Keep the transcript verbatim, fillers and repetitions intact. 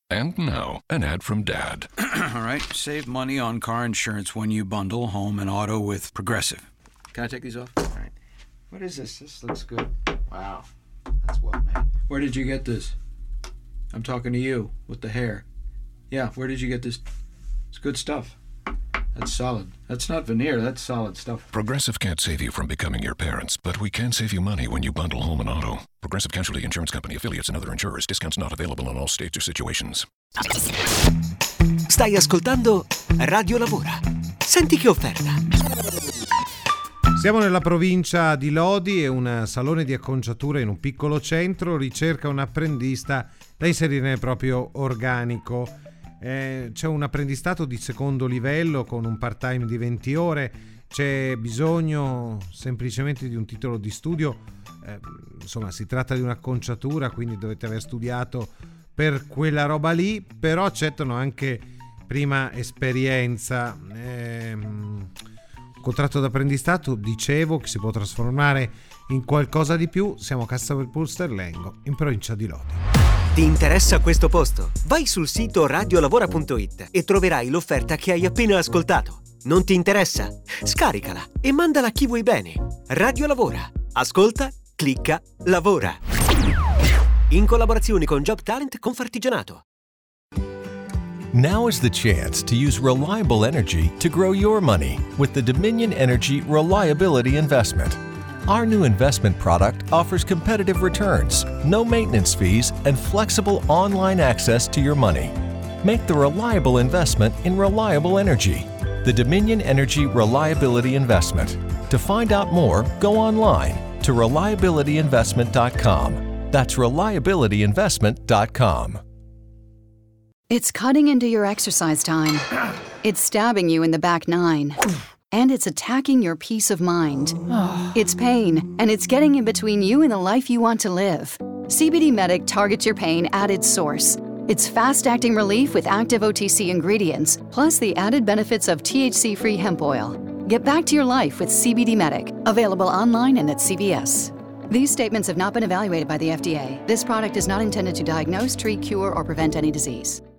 And now, an ad from Dad. All right, save money on car insurance when you bundle home and auto with Progressive. Can I take these off? All right. What is this? This looks good. Wow, that's well made. Where did you get this? I'm talking to you with the hair. Yeah, where did you get this? It's good stuff. That's solid. That's not veneer, that's solid stuff. Progressive can't save you from becoming your parents, but we can save you money when you bundle home and auto. Progressive Casualty Insurance Company, affiliates, and other insurers. Discounts not available in all states or situations. Stai ascoltando Radio Lavora. Senti che offerta. Siamo nella provincia di Lodi e un salone di acconciatura in un piccolo centro ricerca un apprendista da inserire nel proprio organico. Eh, c'è un apprendistato di secondo livello con un part-time di venti ore, c'è bisogno semplicemente di un titolo di studio, eh, insomma si tratta di un'acconciatura, quindi dovete aver studiato per quella roba lì, però accettano anche prima esperienza. Eh, contratto d'apprendistato, dicevo, che si può trasformare in qualcosa di più. Siamo a Castelpulsterlengo, in provincia di Lodi. Ti interessa questo posto? Vai sul sito radiolavora punto it e troverai l'offerta che hai appena ascoltato. Non ti interessa? Scaricala e mandala a chi vuoi bene. Radio Lavora. Ascolta, clicca, lavora. In collaborazione con Job Talent Confartigianato. Now is the chance to use reliable energy to grow your money with the Dominion Energy Reliability Investment. Our new investment product offers competitive returns, no maintenance fees, and flexible online access to your money. Make the reliable investment in reliable energy. The Dominion Energy Reliability Investment. To find out more, go online to reliability investment dot com. That's reliability investment dot com. It's cutting into your exercise time. It's stabbing you in the back nine. And it's attacking your peace of mind. It's pain, and it's getting in between you and the life you want to live. C B D Medic targets your pain at its source. It's fast-acting relief with active O T C ingredients, plus the added benefits of T H C-free hemp oil. Get back to your life with C B D Medic, available online and at C V S. These statements have not been evaluated by the F D A. This product is not intended to diagnose, treat, cure, or prevent any disease.